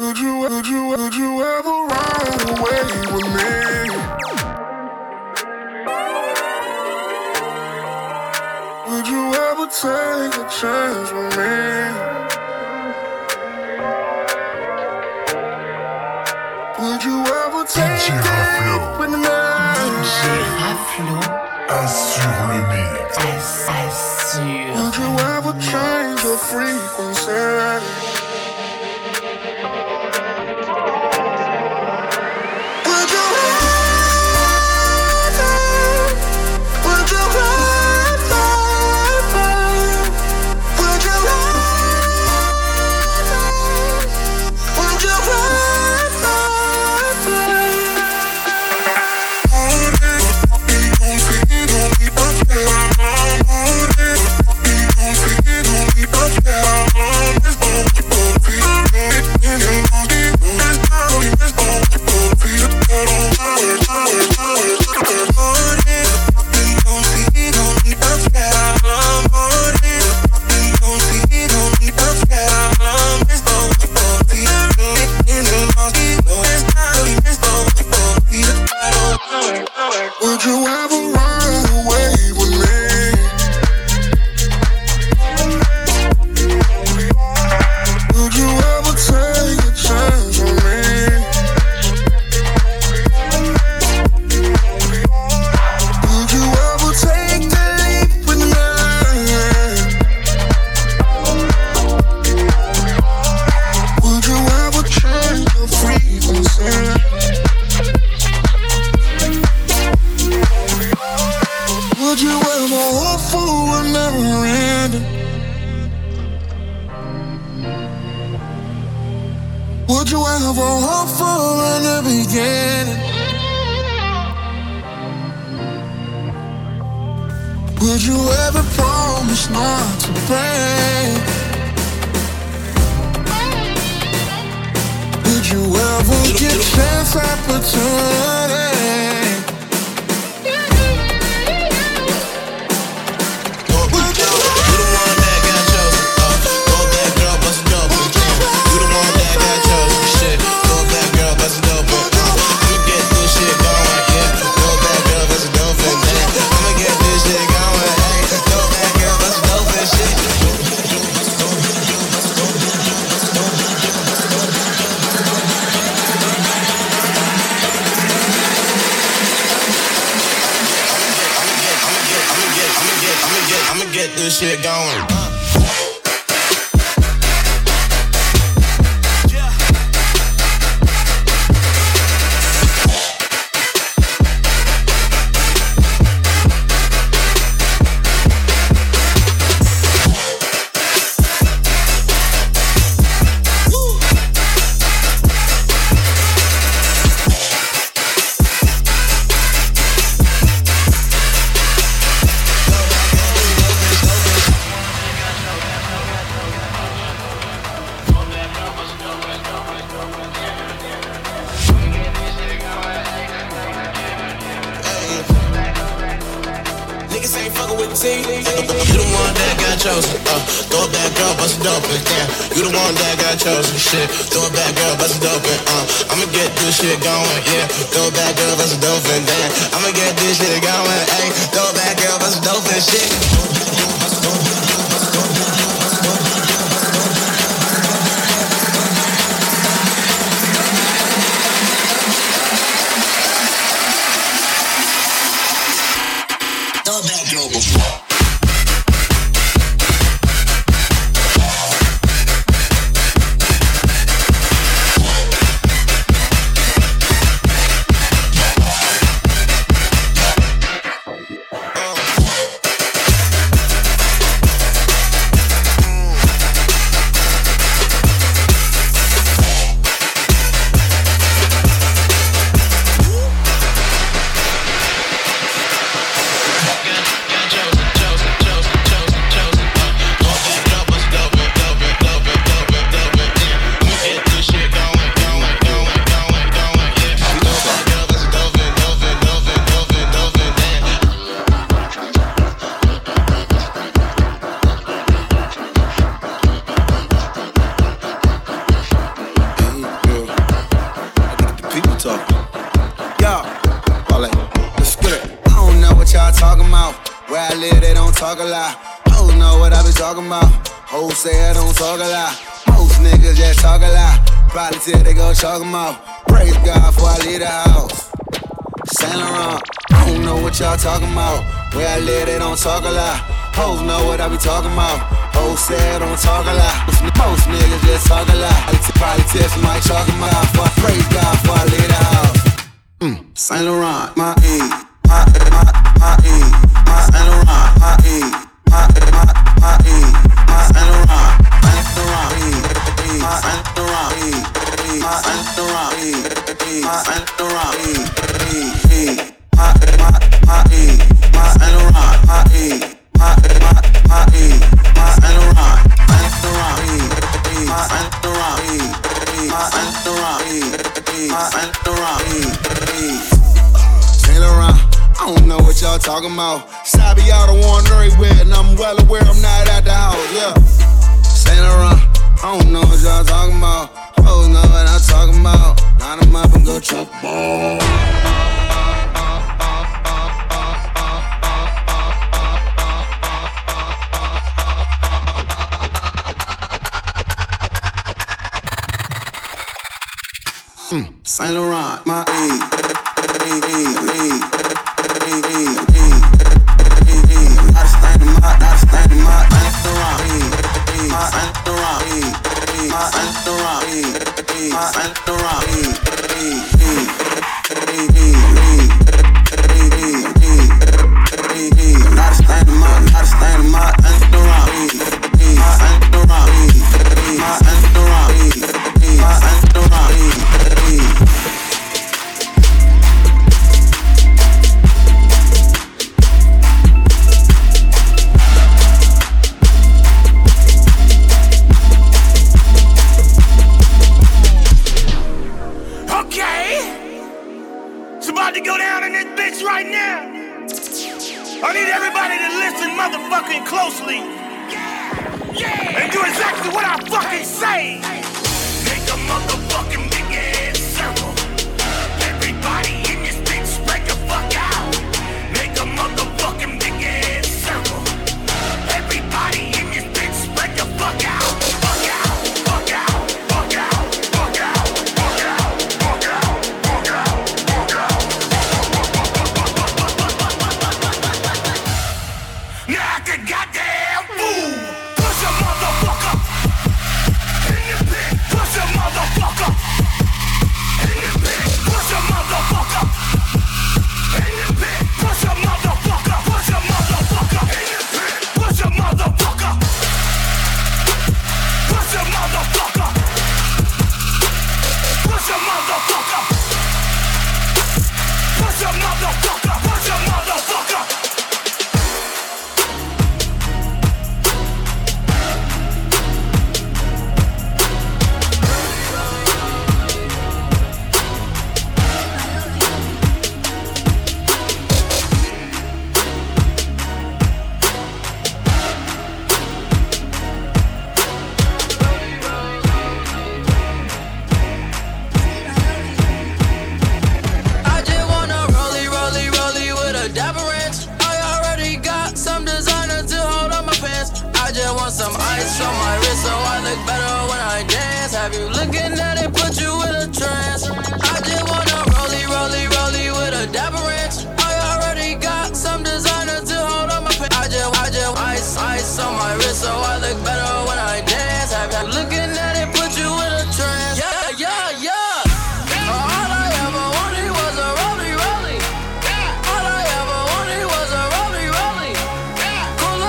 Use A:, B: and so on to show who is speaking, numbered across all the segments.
A: Would you ever ride away with me? Would you ever take a chance with me? Would you ever take a date with me?
B: DJ Raflo
C: Assure le mix.
B: assure.
A: Would you ever change your frequency? Would you ever ride away with me? Would you ever take a chance on me? Would you ever take the leap with me? Would you ever change your frequency? Would you ever hope for a never ending? Would you ever hope for a new beginning? Would you ever promise not to break? Would you ever get chance opportunity?
D: I'ma get this shit going. You the one that got chosen. Throw it back, girl, bust it open. Damn, you the one that got chosen. Shit, throw it back, girl, bust it open. I'ma get this shit going. Yeah, throw it back, girl, bust it open. Damn, I'ma get this shit going. Hey, throw it back, girl, bust it open. Shit.
E: talk a lot. Hoes know what I be talking about. Hoes say I don't talk a lot. Most niggas just talk a lot. Probably till they go chalk 'em out. Praise God before I leave the house. Saint Laurent, I don't know what y'all talking about. Where I live, they don't talk a lot. Hoes know what I be talking about. Hoes say I don't talk a lot. Most niggas just talk a lot. I probably tell somebody talking about. Before I praise God before I leave the house. Saint Laurent, my E, my E, my Saint Laurent, my E, my E, my Saint Laurent, Saint Laurent, my Saint Laurent, my Saint Laurent, my Saint Laurent, my E, my Saint Laurent, my E, my E, my Saint Laurent, Saint Laurent, my Saint Laurent, my Saint Laurent, Saint Laurent, I don't know what y'all talking about. Sabi y'all the one everywhere, and I'm well aware I'm not at the house, yeah. Saint Laurent, I don't know what y'all talking about. Hoes know what I'm talking about. Line them up and go chop ball. Saint Laurent, my E,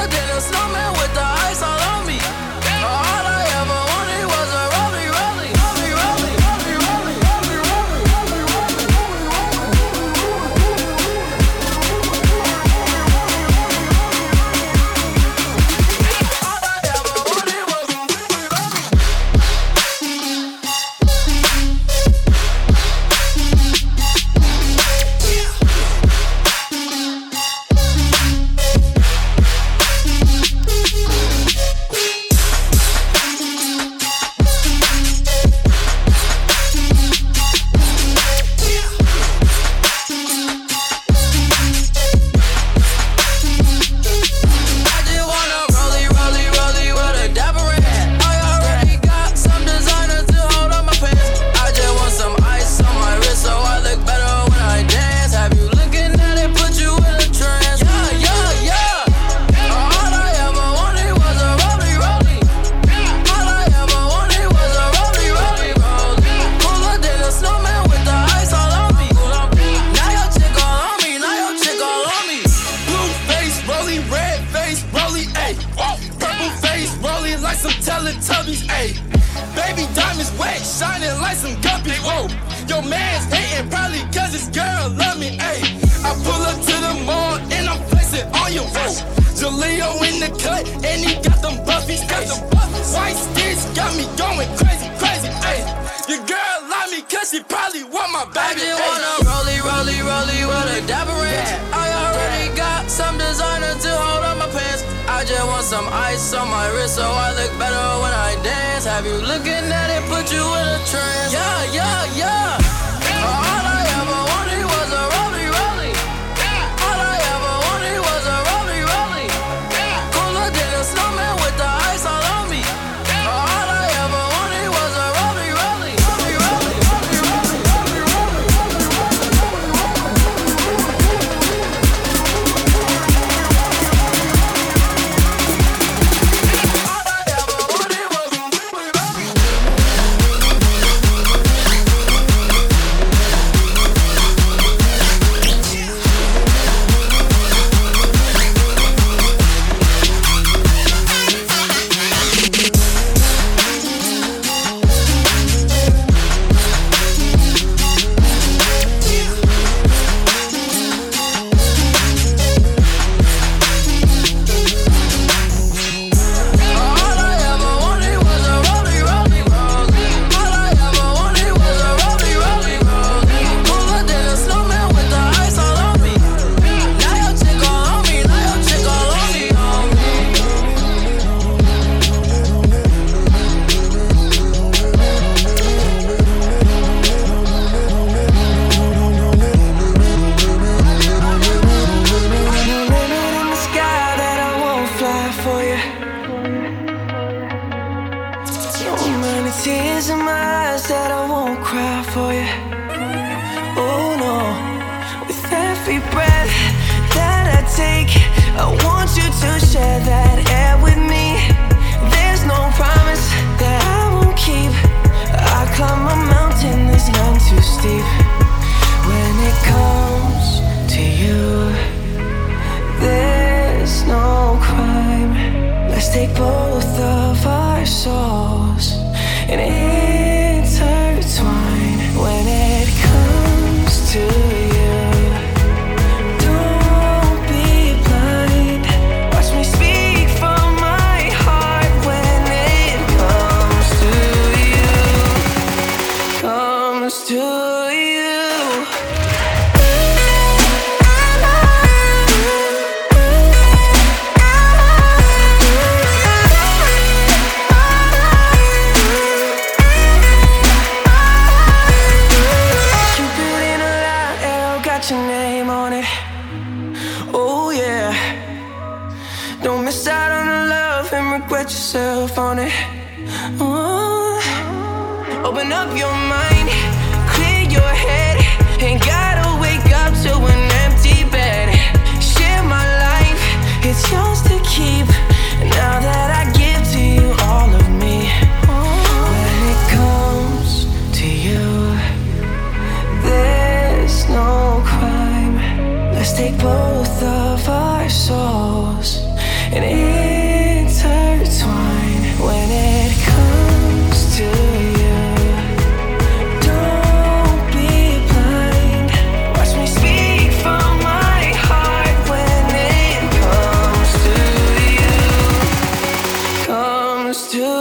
F: Snowman with the ice all on me. All I ever wanted was a rollie rollie. like some guppies, whoa. Your man's hating probably cause his girl love me, ayy. I pull up to the mall and I'm flexing on your whoa. Jaleo in the cut and he got them buffies, White sticks got me going crazy, crazy, ayy. Your girl love me cause she probably want my baby,
B: I just wanna rollie with a dapper ranch. I already got some designer to hold on my pants. I just want some ice on my wrist so I look better when I dance. Have you looking at it, put you in a trance? Yeah. All I ever wanted was a rollie. All I ever wanted was a rollie. Cooler than a snowman with the ice all on me. All I ever wanted was a rollie.
G: Take both of our souls and intertwine. When it comes to you, don't be blind. Watch me speak from my heart. When it comes to you, your name on it. Oh yeah. Don't miss out on the love and regret yourself on it. Open up your mind, clear your head. Ain't gotta wake up to an empty bed. Share my life, it's yours to keep. Now that I give to you all of me. When it comes to you, there's no crime. Let's take both of our souls and intertwine. When it comes to you, don't be blind. Watch me speak from my heart. When it comes to you,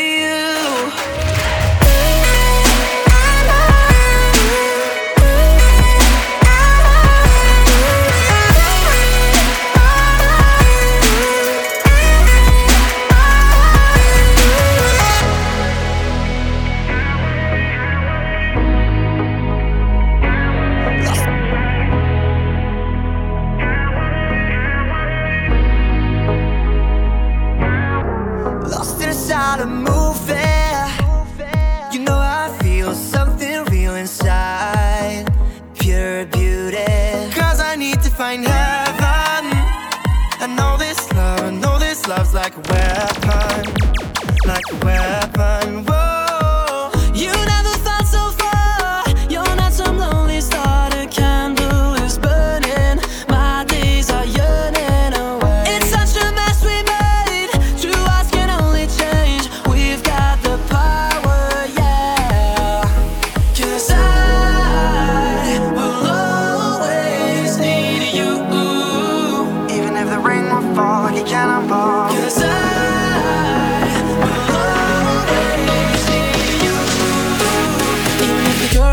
H: A movie, you know I feel something real inside, pure beauty. 'Cause I need to find heaven. I know this love's like a weapon, like a weapon. Whoa, you never felt so far. You're not some lonely star. The candle is burning. My days are yearning away. It's such a mess we made. True hearts can only change. We've got the power, yeah.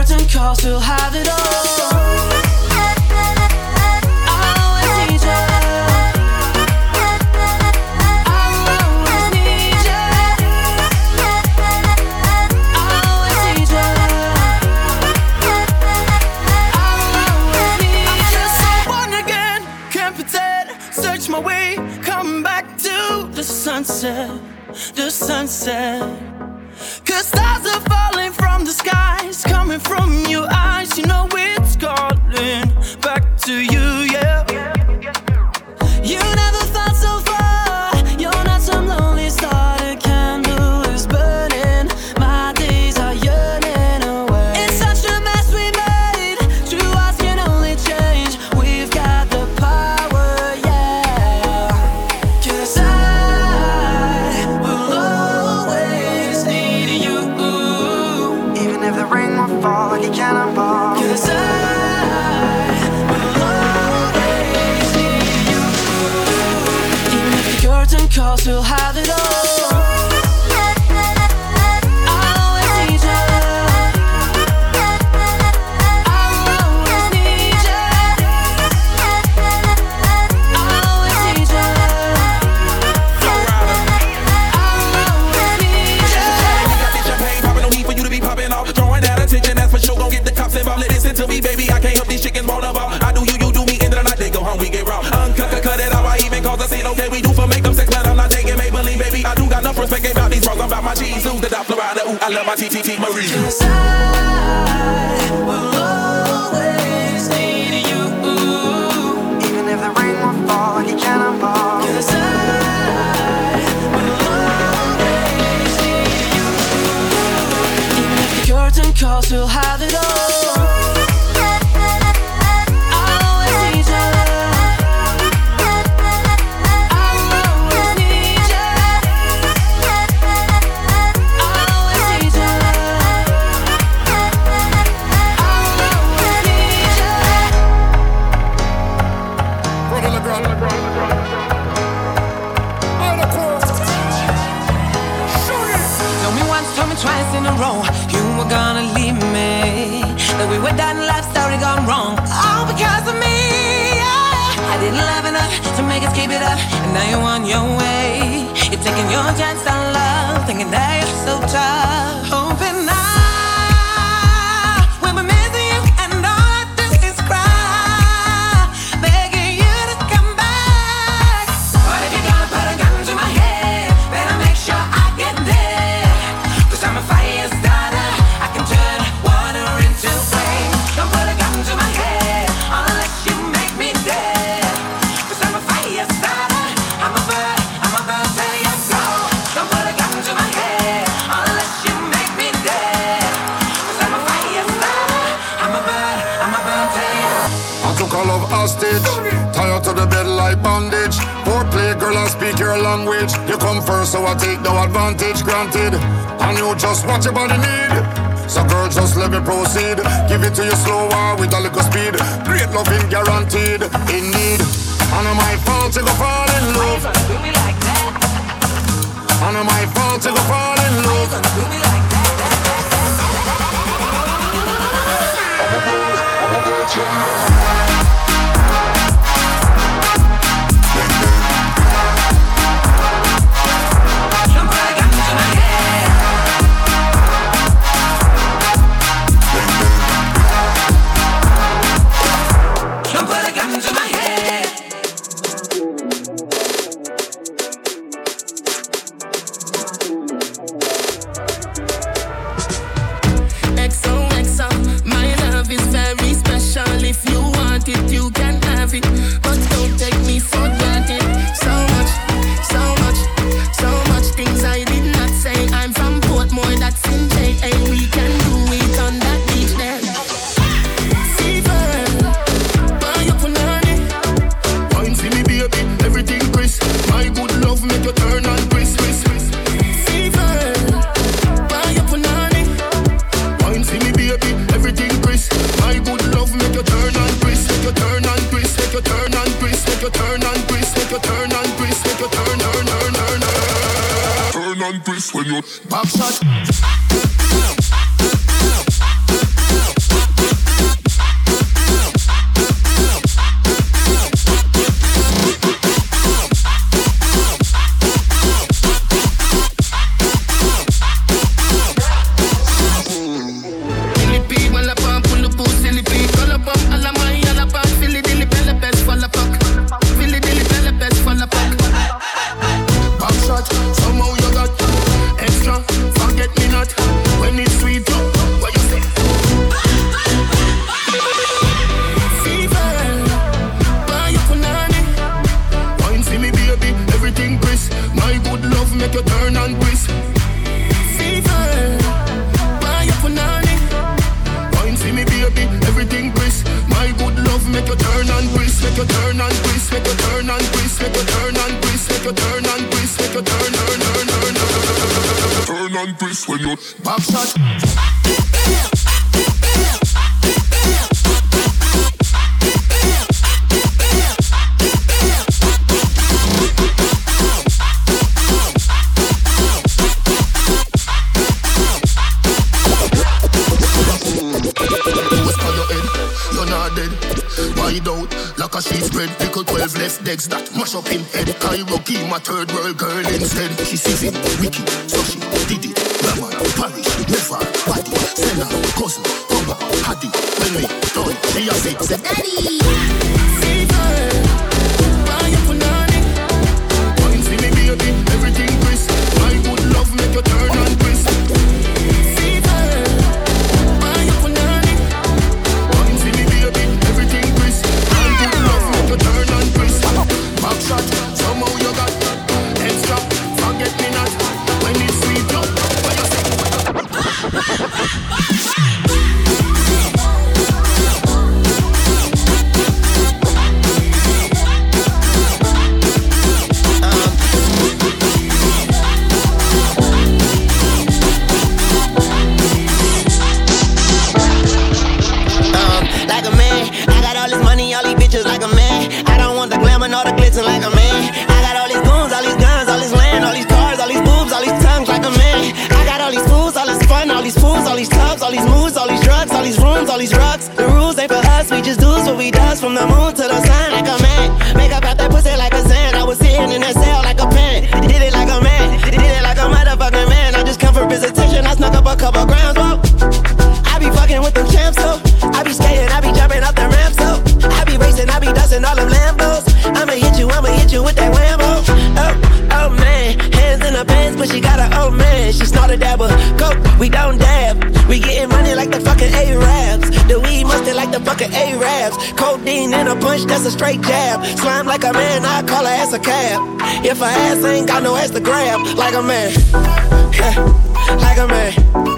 G: curtain calls, we'll have it all. The sunset, 'cause stars are falling from the skies, coming from your eyes. You know it's calling back to you, yeah. You never thought so far. You're not some lonely star. The candle is burning. My days are yearning away. It's such a mess we made. True hearts can only change. We've got the power, yeah. 'Cause
H: fall like a cannonball.
G: 'Cause I will always need you. Even if the curtain calls, we'll have it all.
I: To me, baby, I can't help these chickens roll about. I do you, you do me, end of the night they go home, we get raw. Cut it out, I even cause a scene. Okay, we do for make them sex, but I'm not taking Maybelline, baby. I do got enough respect about these frogs. I'm about my cheese, ooh, the dot Florida, ooh, I love my TTT Marie.
G: 'Cause I will always need you.
H: Even if the rain will fall like a cannonball.
G: 'Cause I will always need you. Even if the curtain calls, we'll have it all.
B: Twice in a row, you were gonna leave me. That we were done, life story gone wrong. All because of me, yeah. I didn't love enough to make us keep it up, and now you're on your way. You're taking your chance on love, thinking that you're so tough. Hoping now, when we're missing you, and all I do is cry, begging you to come back. But if you're gonna put a gun to my head, better make sure I get there. I'm a fire starter, I can turn water into flame. Don't put a gun to my head, unless you make me dead. 'Cause I'm a fire starter, I'm a bird till you go. Don't put a gun to my head, unless you make me dead. 'Cause I'm a fire starter, I'm a bird till you go.
C: I took all of hostage, tie her to the bed like bondage. Foreplay, girl, I speak your language. You come first, so I take no advantage, granted. And you just watch your body need. So girl, just let me proceed. Give it to you slower with a little speed. Great loving guaranteed, indeed. And it's my fault to go fall in love. And it's my fault to go fall in love. and twist when you
J: back shot.
A: and twist when you
F: back shot.
J: Like a sheet spread, pickle 12 left legs that mash up him head. Cairo Key, my third world girl instead. She sees him, Wiki, so she did it. Raman, Paris, Never, Badi, Senna, Cousin, Conga, Hadi. When we done, she a say, Daddy! Fever, buy your punani. Wine see me baby, everything crisp. My good love make you turn and twist. Fever, buy your punani. Wine see me baby, everything crisp. You turn and twist. Back shot, somehow you got extra. Forget me not when it's sweet up. What you say?
K: Like a man, I got all this money, all these bitches like a man. I don't want the glamour nor the glitz like a man. I got all these goons, all these guns, all this land, all these cars, all these boobs, all these tongues like a man. I got all these fools, all this fun, all these fools, all these clubs, all these moods, all these drugs, all these rooms, all these drugs. The rules ain't for us, we just do what we does from the moon to the sun like a man. Make up out that pussy like a sand. I was sitting in that cell like a pen. Did it like a man, did it like a motherfucking man. I just come for visitation, I snuck up a couple grams, whoa. I be fucking with them champs, so I be skating, I be jumping up the ramp, so I be racing, I be dusting all them Lambos. I'ma hit you with that Whammo. Oh man, hands in her pants, but she got an old man. She snorted that with coke, we don't dab. We getting money like the fucking Arabs. The weed mustard like the fucking Arabs. Codeine in a punch, that's a straight jab. Slime like a man, I call her ass a cab. If her ass ain't got no ass to grab, like a man, like a man,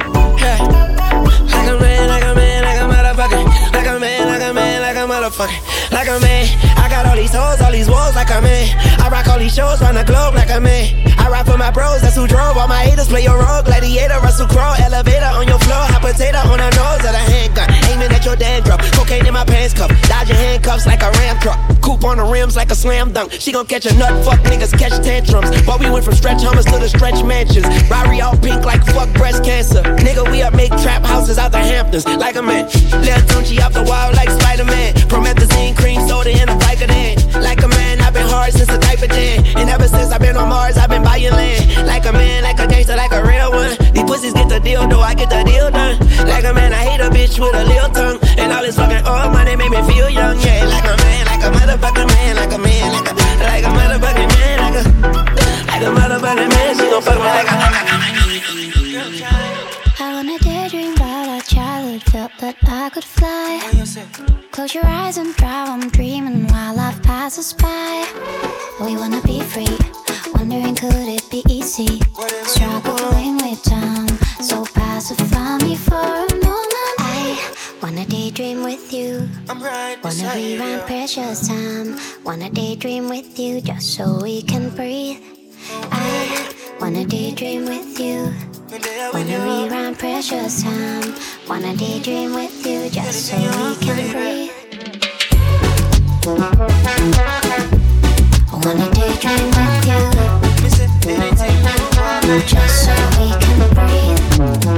K: like a man, like a man, like a motherfucker, like a man, like a man, like a motherfucker, like a man. I got all these hoes, all these walls like a man. I rock all these shows round the globe like a man. I ride for my bros, that's who drove. All my haters play your role. Gladiator, Russell Crowe, elevator on your floor. Hot potato on her nose of the handgun. Aiming at your dandruff. Cocaine in my pants cuff. Dodging handcuffs like a ram truck. Coupe on the rims like a slam dunk. She gon' catch a nut, fuck niggas catch tantrums. But we went from stretch hummers to the stretch mansions. Rari all pink like fuck breast cancer. Nigga, we up make trap houses out the Hamptons like a man. Lil Tunchi off the wall like Spider-Man. Promethazine, cream soda in a Vicodin. Like a man, I've been hard since a diaper den. And ever since I've been on Mars, I've been buying land. Like a man, like a gangster, like a real one. These pussies get the deal, though I get the deal done. Like a man, I hate a bitch with a little tongue. And all this fucking old money make me feel young, yeah. Like a man, like a motherfucking man, like a man, like a motherfucking man, like a motherfucking man. She gon' fuck me like
L: I wanna daydream about our childhood, felt that I could fly. Close your eyes and drive, I'm dreaming while life passes by. We wanna be free, wondering could it be easy. Struggling with time, so pacify me for a moment. I wanna daydream with you, wanna rewrite precious time. Wanna daydream with you just so we can breathe. I wanna daydream with you, wanna rewrite precious time. Wanna daydream with you just so we can breathe. I wanna daydream with you, just so we can breathe.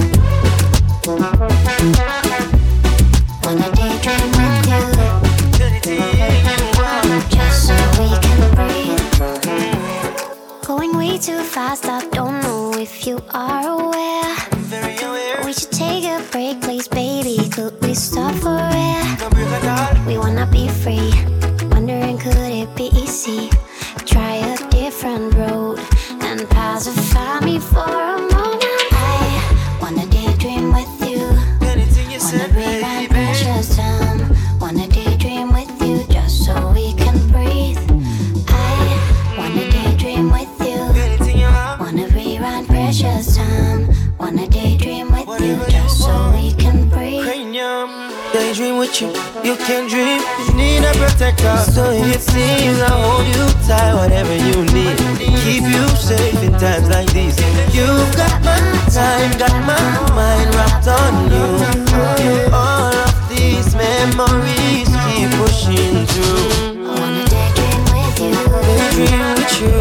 L: Wanna daydream with you, just so we can breathe. Going way too fast, I don't know if you are aware. We should take a break, please, baby. Could we stop for air? We wanna be free, wondering could it be easy. Try a different road and pacify me for a moment. I wanna daydream with you, wanna rewrite precious time. Wanna daydream with you just so we can breathe. I wanna daydream with you, wanna rewrite precious time. Wanna daydream with you just so we can breathe.
K: Yeah,
H: daydream with you. You can dream, you need a protector. So it seems I hold you tight, whatever you need. Keep you safe in times like these. You've got my time, got my mind wrapped on you. All of these memories keep pushing through.
L: I wanna daydream with you.
H: Daydream with you.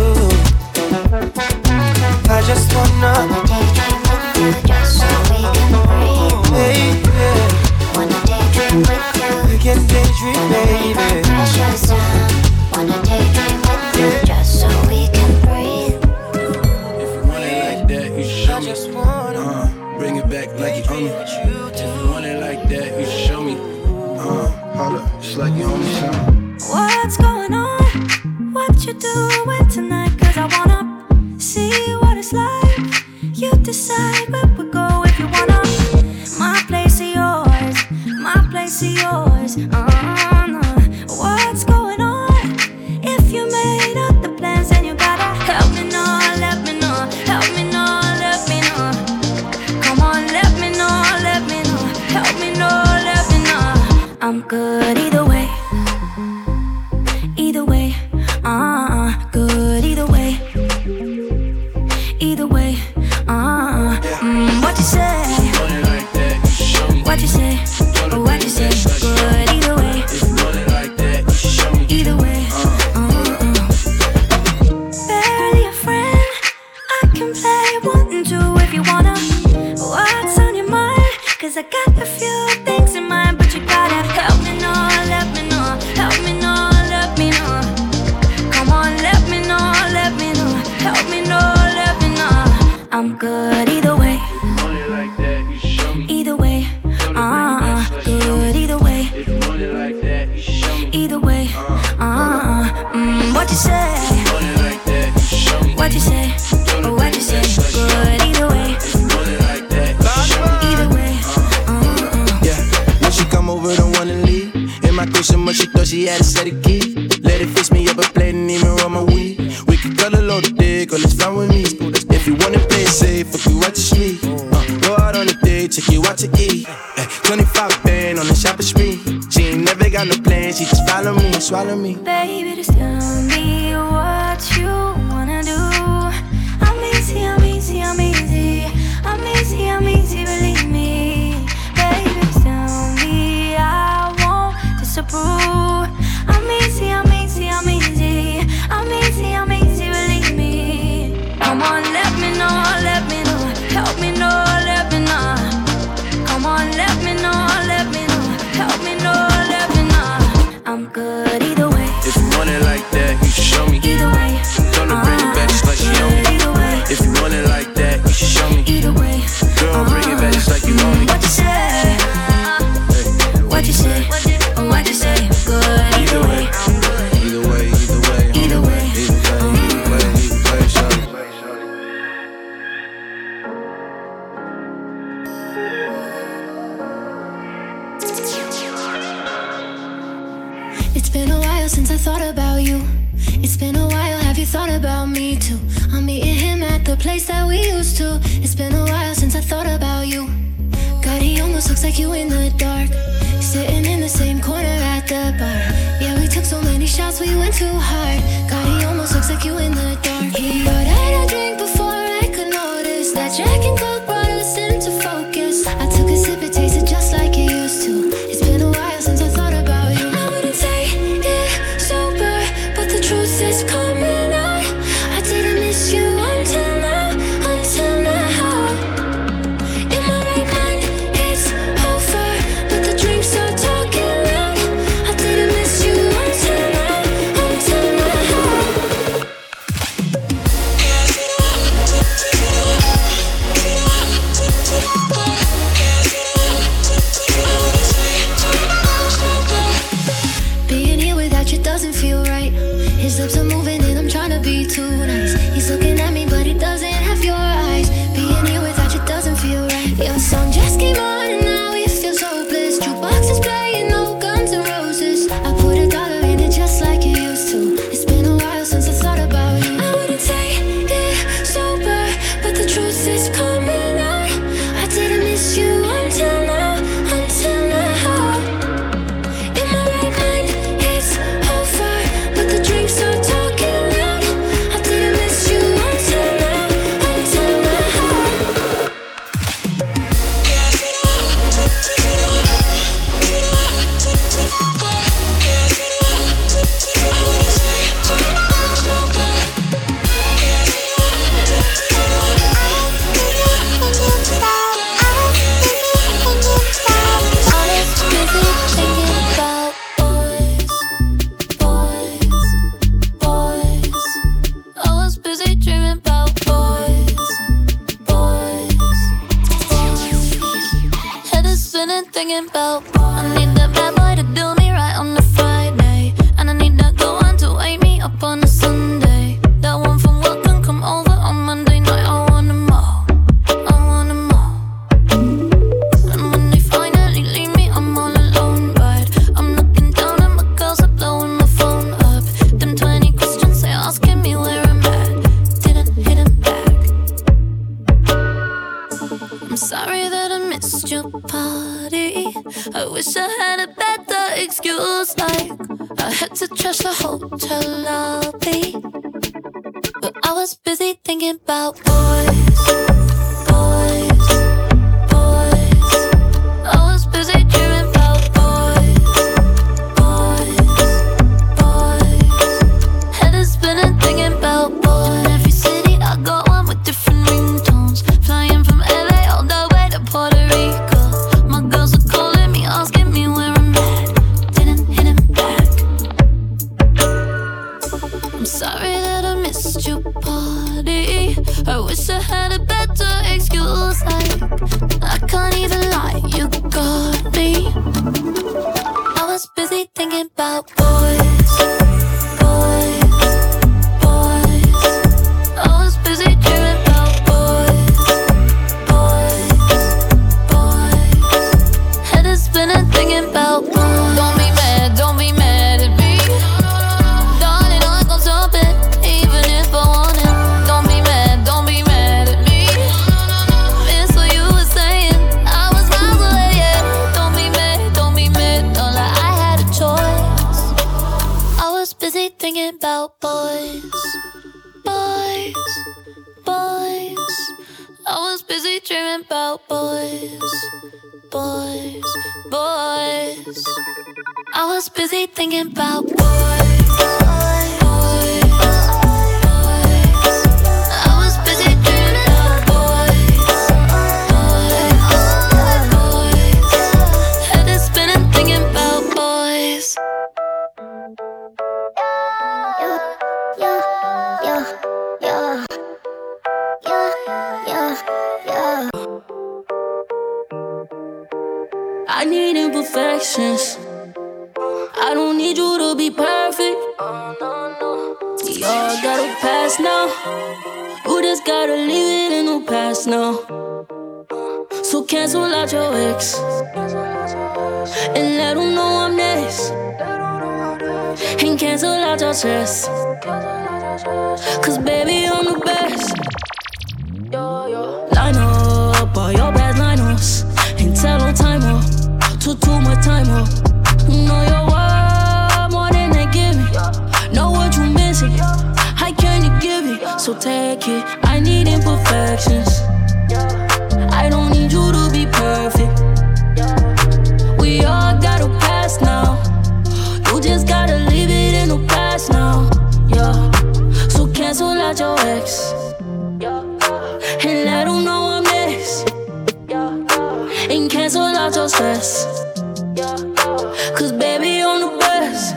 H: I just wanna
L: daydream with you, just so we can breathe.
H: Baby,
L: wanna daydream with you.
H: We can daydream, baby.
L: Precious time. Wanna daydream with you, just so we can breathe.
F: If you want it like that, you should show me. Bring it back like you own me. If you want it like that, you should show me. Hold up, just like you own me something.
M: What's going on? What you doing tonight? Cause I wanna see what it's like. You decide where we go if you wanna. My place or yours, my place or yours. What's going on? If you made up the plans, then you gotta help me know, let me know, help me know, let me know. Come on, let me know, let me know, help me know, let me know. I'm good either way. Either way, good either way. Either way, what you say? What you say? What you say? Good either way. Either way, barely a friend. I can play 1 and 2 if you wanna. What's on your mind? Cause I got a few things in mind, but you gotta help me know, let me know, help me know, let me know. Come on, let me know, let me know, help me know, let me know. I'm good either way. Either way, good either way. Either way, what you say? What you say? What you say? Good either way. Either way,
F: yeah. When she come over, don't wanna leave. In my cushion, but she thought she had a set of keys. Let it fix me up a plate and even run my weed. We can cut a load of dick, or let's fly with me. If you wanna play it safe, fuck you out your sleep. Go out on a date, take you out to eat. 25 band on the shopping spree. She ain't never got no plans, she just follow me, swallow me.
M: baby, just tell me what you wanna do. I'm easy, I'm easy, I'm easy. I'm easy, I'm easy, believe me. Baby, just tell me I won't disapprove. I'm easy, I'm easy, I'm easy. I'm easy, I'm easy, believe me. Come on, let me know, let me know. Help me know, let me know. Come on, let me know, let me know. Help me know, let me know. I'm good either way.
F: If you want it like that, you should show me.
M: Either way,
F: Gonna bring it back just like you own me.
M: either way,
F: If you want it like that, you should show me.
M: either way.
F: Girl, bring it back just like you own me.
M: What you say? What you say? What you say? Good either way.
F: Either way, either way,
M: Either way.
F: either way, either way, show me.
M: It's been a while since I thought about you. It's been a while, have you thought about me too? I'm meeting him at the place that we used to. It's been a while since I thought about you. God, he almost looks like you in the dark. Sitting in the same corner at the bar. Yeah, we took so many shots, we went too hard. God, he almost looks like you in the dark. He ordered a drink before I could notice that Jack and Coke brought us into focus. I took a sip, it tasted just like it used to. It's been a while since I thought about you. I wouldn't say it sober, but the truth is coming out. I didn't miss you until now, until now. In my right mind, it's over, but the drinks are talking loud. I didn't miss you until now, until now. been thinking about. I need that bad boy to do me right on the Friday, and I need that go on to wake me up on a Sunday. That one from work can come over on Monday night. I want them all, I want them all. And when they finally leave me, I'm all alone, right? I'm looking down at my girls, are blowing my phone up. Them 20 questions they asking me where I'm at. Didn't hit them back. I'm sorry that I missed your party. I wish I had a better excuse, like I had to trash the hotel lobby. But I was busy thinking about boys, boys, boys. I was busy dreaming about boys, boys, boys. Head is spinning thinking about boys. In every city I go, one with different ringtones. Flying from LA all the way to Puerto Rico. My girls are calling me, asking me where I'm at. Didn't hit him back. I'm sorry that I missed your party. I wish I had a better excuse, like I can't even lie, you got me. I was busy thinking about boys, boys, boys. I was busy dreaming about boys, boys, boys. Head is spinning thinking about boys. Don't be mad at me, darling, I gon' stop it, even if I want it. Don't be mad at me, it's what you were saying, I was miles away, yeah. Don't be mad, don't lie, I had a choice. I was busy thinking about boys, boys, boys. I was busy dreaming about boys, boys, boys. I was busy thinking about boys, boys, boys. I was busy dreaming about boys, boys, boys. Head is spinning thinking about boys. I need imperfections. I don't need you to be perfect. We all got a past now. You just gotta leave it in the past now. So cancel out your ex and let them know I'm next. And cancel out your stress, cause baby I'm the best. Line up all your bad line-ups and tell them time up. Too much time up. Know your worth more than they give me. Know what you missing, how can you give it? So take it, I need imperfections. I don't need you to be perfect. We all got a past now. You just gotta leave it in the past now, yeah. So cancel out your ex and let them know I'm next. And cancel out your stress, cause baby I'm the best.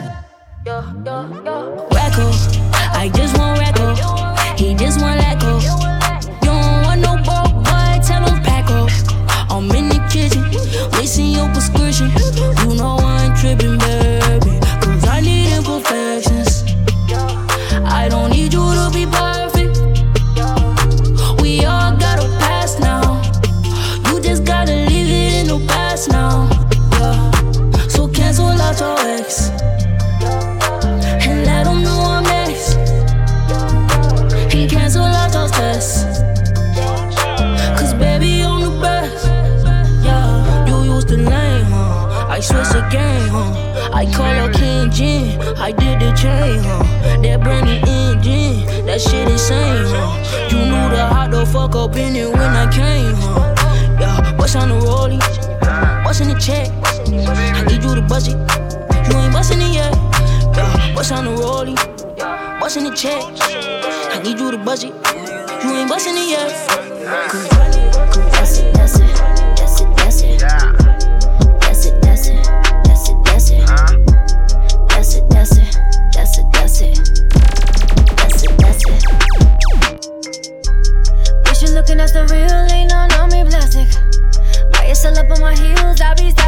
M: Racko, I just want Racko. He just want Lacko. You don't want no broke boy, tell him pack up. I'm in the kitchen, wasting your prescription. You know I ain't tripping, baby, cause I need imperfections. I don't need you to be perfect. We all got a past now. You just gotta leave it in the past now, yeah. So cancel out your ex and let them know I'm next. And cancel out your stress, cause baby I'm the best, yeah. You used to lame, huh? I switched the game, huh? I call her King Jin, I did the chain, huh? That brand new engine, that shit insane, huh? You knew the hot the fuck up in it when I came, huh? Yeah, what's on the rollie? What's in the check? I need you to budget, you ain't bustin' it yet. Yeah, what's on the rollie? What's in the check? I need you to budget, you ain't bustin' it yet. That's it, that's it, that's it, that's it. That's it, that's it, that's it, that's it. That's it, that's it, that's it, that's it. That's it, that's it. Bitch, you looking at the real, ain't none on me plastic. Buy yourself up on my heels, I be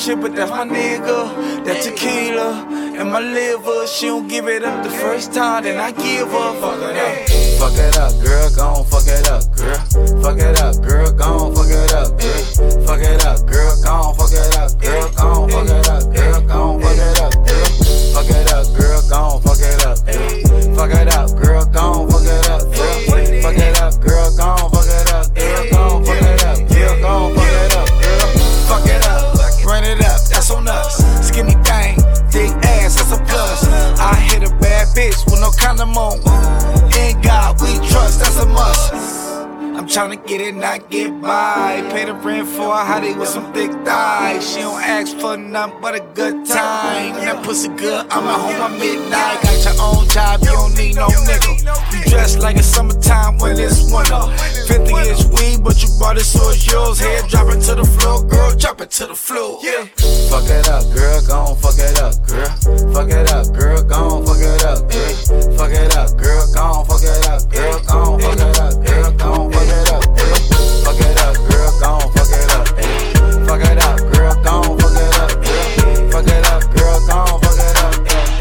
N: shit, but that's my nigga. That tequila and my liver. She don't give it up the first time, then I give her. Fuck it up.
O: Fuck it up, girl, gon' fuck it up, girl. Fuck it up, girl, gon' fuck it up, girl. Fuck it up, girl, gon' fuck it up, girl. Gon' fuck it up, girl, gon' fuck it up, girl. Fuck it up, girl, gon' fuck it up, girl. Fuck it up, girl, gon' fuck it up, girl. Fuck it up, girl, gon' fuck it up, girl. Gon' fuck it up, girl, gon' fuck it up, girl.
N: Fuck it up, run it up, that's on us. Skinny thing, thick ass, that's a plus. I hit a bad bitch with no condom on. In God we trust, that's a must. I'm tryna get it, not get by. Pay the rent for a hottie with some thick thighs. She don't ask for nothing but a good time. That pussy good, I'ma home at midnight. Got your own job, you don't need no nickel. You dress like it's summertime when it's winter. 50-inch weed, but you bought it so it's yours. Head drop it to the floor, girl, drop it to the floor. Yeah.
O: Fuck it up, girl, gon' fuck it up, girl. Fuck it up, girl, gon' fuck it up, girl. Fuck it up, girl, gon' fuck it up, girl. Gon' fuck it up, girl, gon' fuck it up, girl. Fuck it up, girl, gon' fuck it up, girl. Fuck it up, girl, gon' fuck it up, girl. Fuck it up, girl, gon' fuck it up,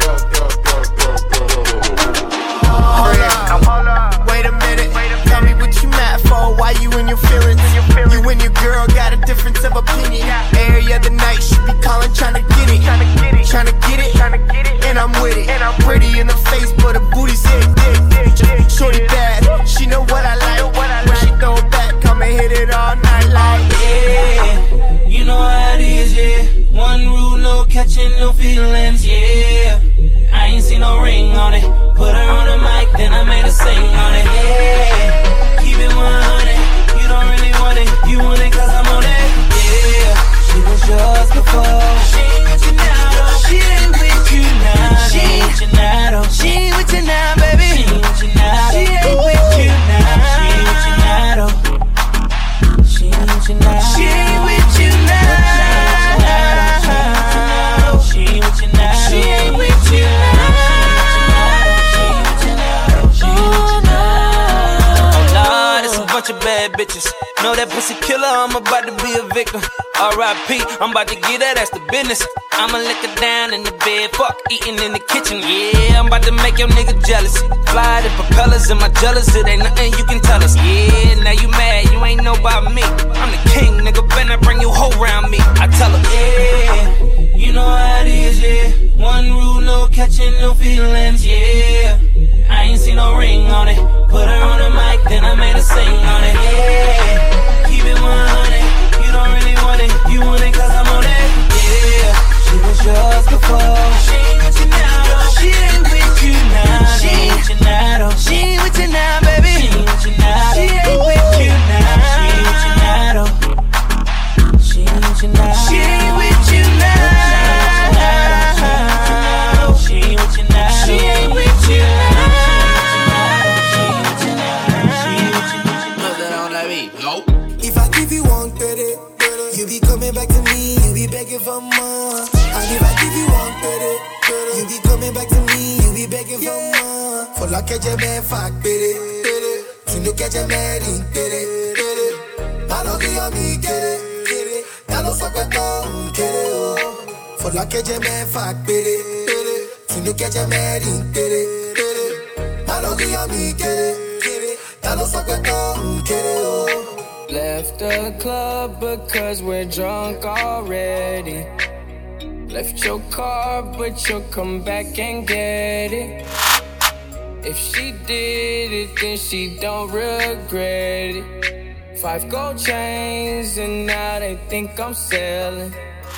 P: girl. Wait a minute, tell me what you mad for. Why you in your feelings? You and your girl got a difference of opinion. Every other night she be calling, tryna get it, and I'm with it. Pretty in the face, but her booty's hit. Shorty bad, she know what I like. When she throw it back, come and hit it all night like.
Q: Yeah, you know how it is, yeah. One rule, no catching, no feelings, yeah. I ain't seen no ring on it. Put her on the mic, then I made her sing on it. Yeah, keep it 100. You don't really want it, you want it 'cause I'm on it. Yeah, she was yours before. She ain't with you now, though. She ain't with you now. She ain't with you now, though. She ain't with you now, baby. She ain't with you now. She ain't with you now. She ain't with you now, though. She ain't with you now. She ain't with you now. She ain't with you now. She ain't with you now. Bunch of bad bitches. Know that pussy killer, I'm about to be a victim. R.I.P., I'm about to get that, that's the business. I'ma lick her down in the bed, fuck, eating in the kitchen. Yeah, I'm about to make your nigga jealous. Fly the propellers and my jealous, it ain't nothing you can tell us. Yeah, now you mad, you ain't know about me. I'm the king, nigga, better bring you whole round me. I tell her, yeah, you know how it is, yeah. One rule, no catching, no feelings, yeah. I ain't seen no ring on it. Put her on the mic, then I made her sing on it. Yeah, keep it 100. You don't really want it, you want it 'cause I'm on it. Yeah, she was yours before. She ain't with you now, though. She ain't with you now. She ain't with you now, though. She ain't with you now, baby. She ain't with you now. She ain't with you now. She ain't with you now, though. She ain't with you now. She ain't with you now. She ain't with you now. She ain't with you now.
R: If I give you one credit, you be coming back to me, you be begging for more. And if I give you one credit, you be coming back to me, you be begging for more. For la que je me fuck, baby. Tu know que je me ring, baby. Malo que yo mi quiere, ya lo saco todo, quiere. For la que je me fuck, baby. Tu know que je me ring, baby. Malo que yo mi quiere, ya lo saco todo, quiere.
Q: Left the club because we're drunk already. Left your car, but you'll come back and get it. If she did it, then she don't regret it. 5 gold chains, and now they think I'm selling.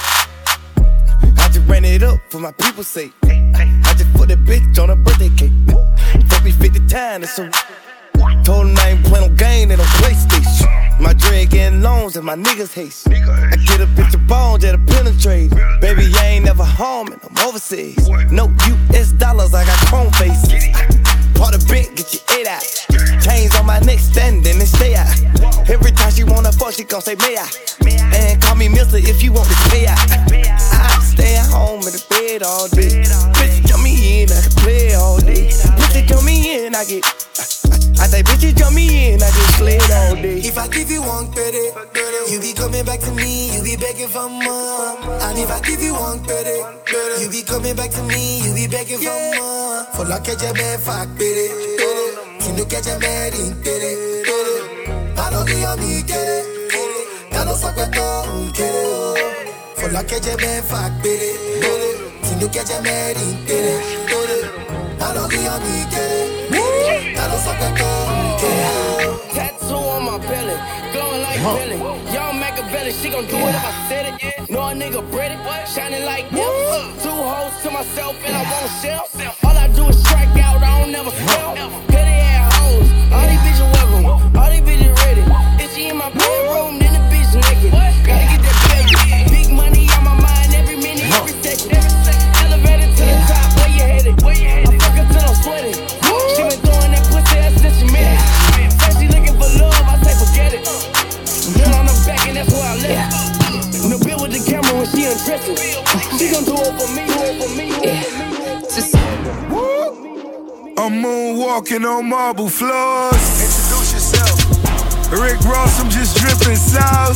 N: I just ran it up for my people's sake. I just put a bitch on a birthday cake. Fuck me 50 times, it's so. Told him I ain't playing no game, they don't PlayStation. My dread getting loans and my niggas haste. I get a bitch of bones that'll penetrate. Baby, I ain't never home and I'm overseas. No US dollars, I got chrome faces. Part of bent, get your head out. Chains on my neck, standing and stay out. Every time she wanna fuck, she gon' say, may I? And call me Mister if you want this pay out. I stay at home in the bed all day. Bitch, jump me in, I can play all day. Bitch, jump me in, I
R: I say, bitches jump me in, I just slid all day. If I give you one credit, you be coming back to me, you be begging for more. And if I give you one credit, you be coming back to me, you be begging for more. For la que je me fuck, baby. Si no que je me rintere. Paro que yo me quiere. Ya no saco esto, quiere. For la que je me fuck, baby. Si no que je me rintere. Paro que yo me quiere. Ya no saco esto, quiere.
F: Tattoo on my belly, glowing like Billy. Young Machiavelli, she gon' do it if I said it. Know a nigga pretty, shining like this. 2 hoes to myself and I won't sell. All I do is strike out, I don't never spell. Petty ass hoes, all these bitches welcome, all these bitches ready. If she in my bedroom, then the bitch naked. Gotta get that baby. Big money on my mind every minute, every second. Elevated to the top, where you headed? I fuck her till I'm sweating. She been throwing that pussy ass since she met it. She looking for love, I say forget it. Girl on the back and that's where I left. No bill with the camera when she undressing. She gon' do it for me, do it for me, do it for me.
S: I'm moonwalking on marble floors.
N: Introduce yourself.
S: Rick Ross, I'm just dripping sauce.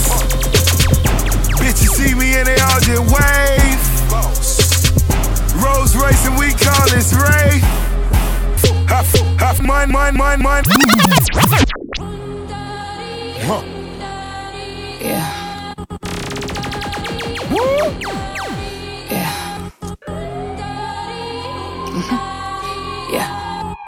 S: Bitches see me and they all just wave. Rolls Royce and we call this rave. Half mine.
G: Yeah.
S: Woo!
G: Yeah. Yeah.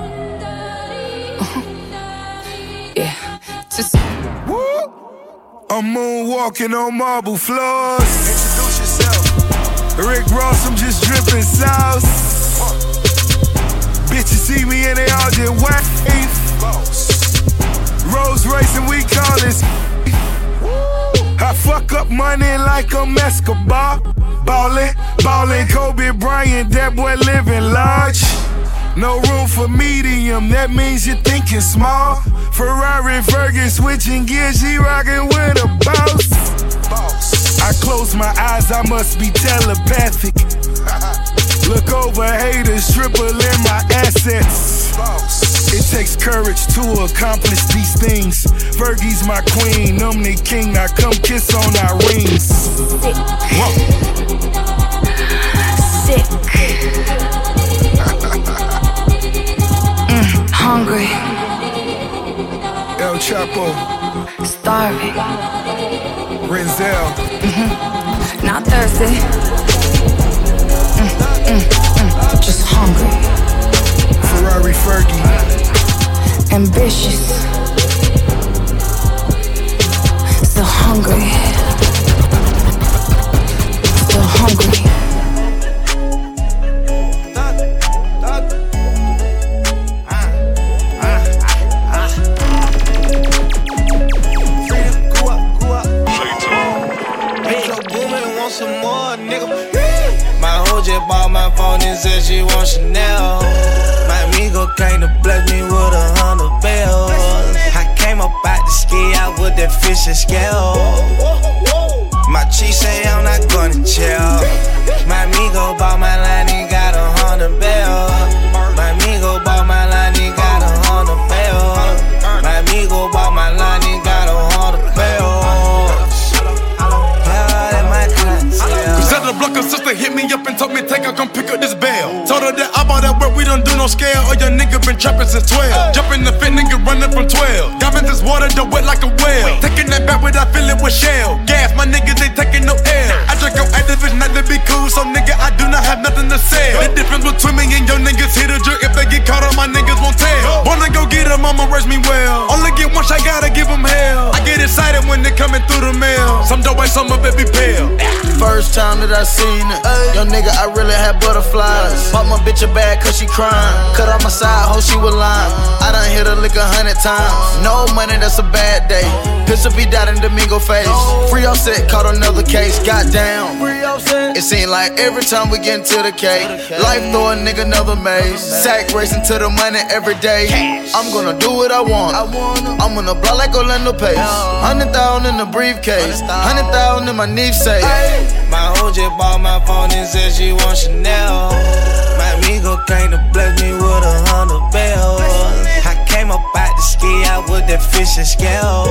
G: Yeah. Just
S: woo! I'm moonwalking on marble floors.
N: Introduce yourself.
S: Rick Ross, I'm just dripping sauce. Bitches see me and they all just wave. Rolls Royce and we call this. I fuck up money like I'm Escobar. Ballin', Kobe Bryant, that boy living large. No room for medium, that means you're thinking small. Ferrari, Fergie, switching gears, she rockin' with a boss. I close my eyes, I must be telepathic. Look over haters, triple in my assets. It takes courage to accomplish these things. Fergie's my queen, I'm the king. Now come kiss on our rings.
G: sick. Hungry.
S: El Chapo.
G: Starving.
S: Renzel.
G: Not thirsty. Just hungry.
S: Ferrari Fergie.
G: Ambitious. Still hungry. Still hungry.
P: Some more, nigga. My hoe just bought my phone and said she want Chanel. My amigo came to bless me with 100 bells. I came up out the ski out with that fish and scale. My chief say I'm not gonna chill. My amigo bought my line, he got 100 bells. My amigo bought my line, he got 100 bells. My amigo bought my line, he got 100 bells.
T: The blocker sister hit me up and told me take her, come pick up this bail. Told her that I'm all that work, we don't do no scale. Or your nigga been trapping since 12. Jumping the fit, nigga running from 12. Got in this water, the wet like a whale. Taking that back without filling with shell. Gas, my niggas ain't taking no L. I drink on activist, not to be cool, so nigga, I do not have nothing to sell. The difference between me and your niggas, hit a jerk. If they get caught up, my niggas won't tell. Wanna go get them, I'ma raise me well. Only get one shot, gotta give them hell. I get excited when they coming through the mail. Some dope, some of it be pale.
N: First time that I seen it, young nigga, I really had butterflies. Bought my bitch a bag cause she crying. Cut off my side, hope she was lying. I done hit her lick 100 times. No money, that's a bad day. Pistol be down in Domingo face. Free offset, caught another case. Goddamn. It seemed like every time we get into the cake, life throw a nigga another maze. Sack racing to the money every day. I'm gonna do what I want. I'm gonna block like Orlando Pace. 100,000 in the briefcase. 100,000 in my knee safe.
P: My hoe just bought my phone and said she want Chanel. My amigo came to bless me with 100 bells. I
D: came up out the ski out with that fish and scale.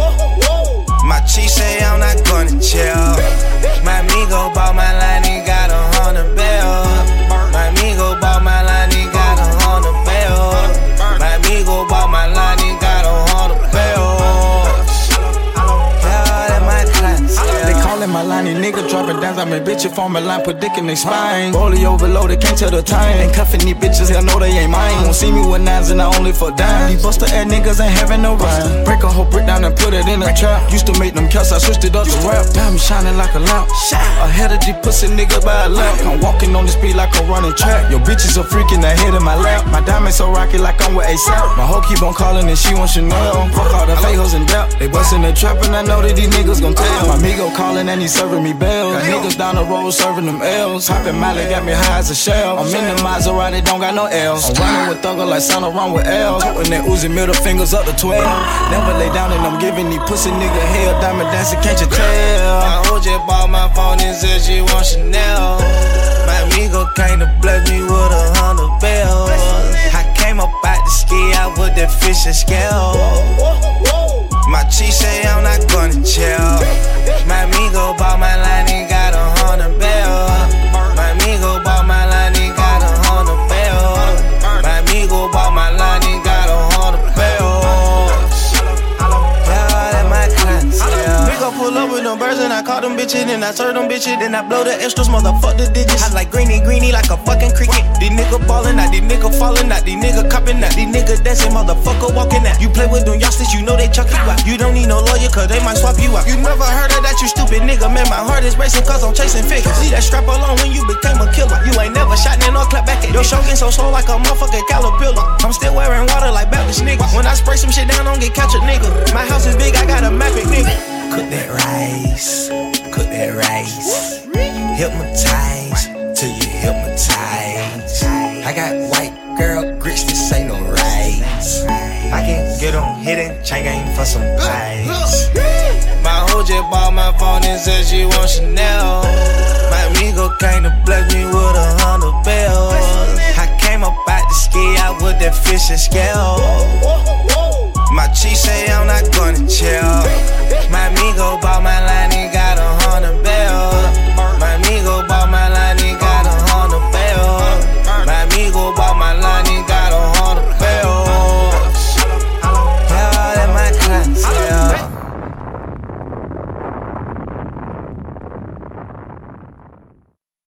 D: My chief say I'm not gonna chill. My amigo bought my line, he got 100 bills. My amigo bought my line, he got 100 bills. My amigo bought my line, he got 100 bills. Yeah, that my clients.
E: They callin' my line, these niggas dropping downs. I'm a bitch if on my line, predicting they spine. Rollie overloaded, can't tell the time. Ain't cuffin' these bitches, hell no, they ain't mine. Won't see me with nines and I only for dimes. These buster ass niggas ain't having no rhyme. Break a whole brick down and put it in a trap. Used to make them cuts, I switched it up to rap. Diamond shining like a lamp. Ahead of these pussy niggas by a lamp. I'm walking on the speed like I'm running track. Your bitches are freaking ahead of my lap. My diamond so rocky like I'm with ASAP. My hoe keep on calling and she wants Chanel. Fuck all the fake hoes in depth. They bustin' the trap and I know that these niggas gon' tell. My amigo calling and he serving me bells. Niggas down the road serving them L's. Poppin' Miley got me high as a shell. I'm in the Maserati, don't got no L's. I'm running with Thugger like Santa Run with L's. When they oozing middle fingers up to 12. Never lay down and I'm giving these pussy nigga hell. Diamond dancing, can't you tell?
D: My hoe just bought my phone and said she want Chanel. My amigo came to bless me with 100 bills. I came up out the ski out with that fish and scale. My chief say I'm not gonna chill. My amigo bought my line, he got 100 bills. My amigo bought my line, he got 100 bills. My amigo bought my line, he got 100 bills. Yeah, that my clients. Nigga pull up with them birds and I call them bitches. Then I serve them bitches, then I blow the extras, motherfuck the digits. I like greeny like a fucking cricket. These nigga ballin' out, these nigga fallin' out, these nigga coppin' out, these nigga dancing, motherfucker walking out. You play with them youngsters, you know they chuck you out. You don't need no lawyer, cause they might swap you out. You never heard of that, you stupid nigga. Man, my heart is racing cause I'm chasing figures. See that strap alone when you became a killer. You ain't never shot in or clap back at your show getting so slow like a motherfucking caterpillar. I'm still wearing water like Baptist nigga. When I spray some shit down, don't get catch a nigga. My house is big, I got a map it, nigga. Cook that rice, cook that rice. Hypnotize till you hypnotize. I got white girl grits, this ain't no rice. I can get on hidden chain game for some pies. My hoe just bought my phone and said she want Chanel. My amigo came to bless me with 100 bills. I came up out the ski out with that fish and scale.